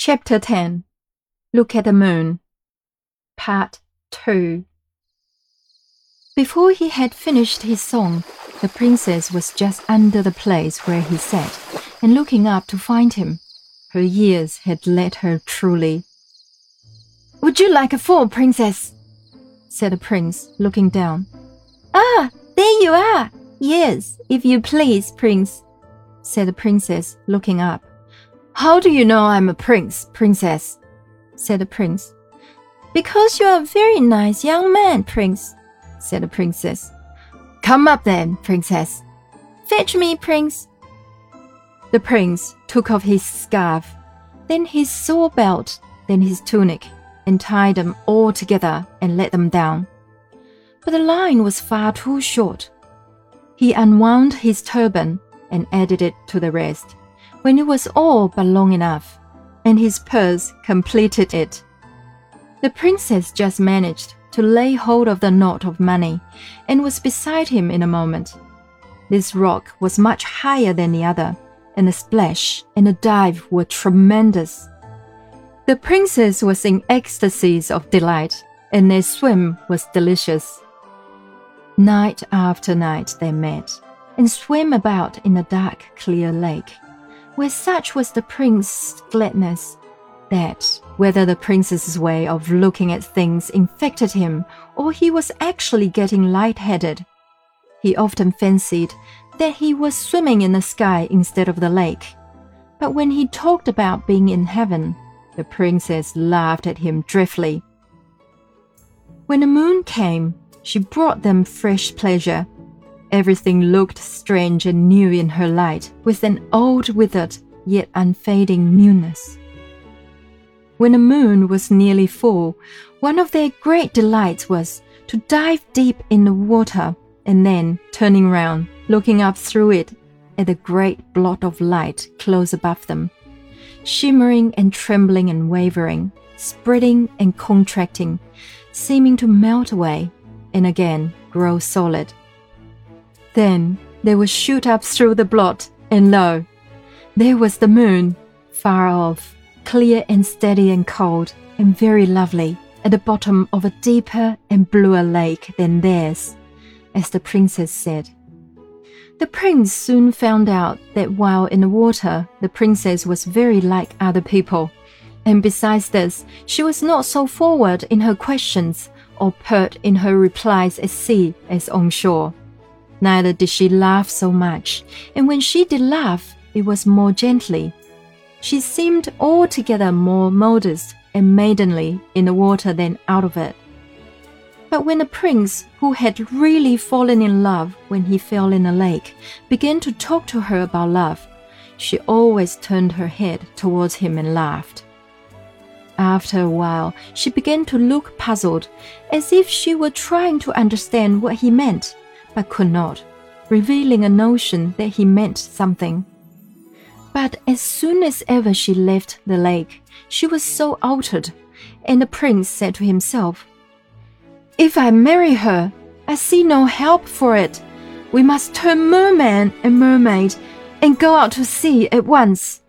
Chapter 10 Look at the Moon Part 2 Before he had finished his song, the princess was just under the place where he sat, and looking up to find him. Her ears had led her truly. "Would you like a fall, princess?" said the prince, looking down. "Ah, there you are! Yes, if you please, prince," said the princess, looking up. "How do you know I'm a prince, princess?" said the prince. "Because you're a very nice young man, prince," said the princess. "Come up then, princess." "Fetch me, prince." The prince took off his scarf, then his sword belt, then his tunic, and tied them all together and let them down. But the line was far too short. He unwound his turban and added it to the rest, when it was all but long enough, and his purse completed it. The princess just managed to lay hold of the knot of money and was beside him in a moment. This rock was much higher than the other, and the splash and the dive were tremendous. The princess was in ecstasies of delight, and their swim was delicious. Night after night they met, and swam about in the dark, clear lake, where such was the prince's gladness that, whether the princess's way of looking at things infected him or he was actually getting light-headed, he often fancied that he was swimming in the sky instead of the lake. But when he talked about being in heaven, the princess laughed at him dreadfully. When the moon came, she brought them fresh pleasure. Everything looked strange and new in her light, with an old, withered, yet unfading newness. When the moon was nearly full, one of their great delights was to dive deep in the water and then, turning round, looking up through it at the great blot of light close above them, shimmering and trembling and wavering, spreading and contracting, seeming to melt away and again grow solid. Then they would shoot up through the blot, and lo, there was the moon, far off, clear and steady and cold, and very lovely, at the bottom of a deeper and bluer lake than theirs, as the princess said. The prince soon found out that while in the water, the princess was very like other people, and besides this, she was not so forward in her questions or pert in her replies at sea as on shore. Neither did she laugh so much, and when she did laugh, it was more gently. She seemed altogether more modest and maidenly in the water than out of it. But when the prince, who had really fallen in love when he fell in the lake, began to talk to her about love, she always turned her head towards him and laughed. After a while, she began to look puzzled, as if she were trying to understand what he meant, but could not, revealing a notion that he meant something. But as soon as ever she left the lake, she was so altered, and the prince said to himself, "If I marry her, I see no help for it. We must turn merman and mermaid, and go out to sea at once."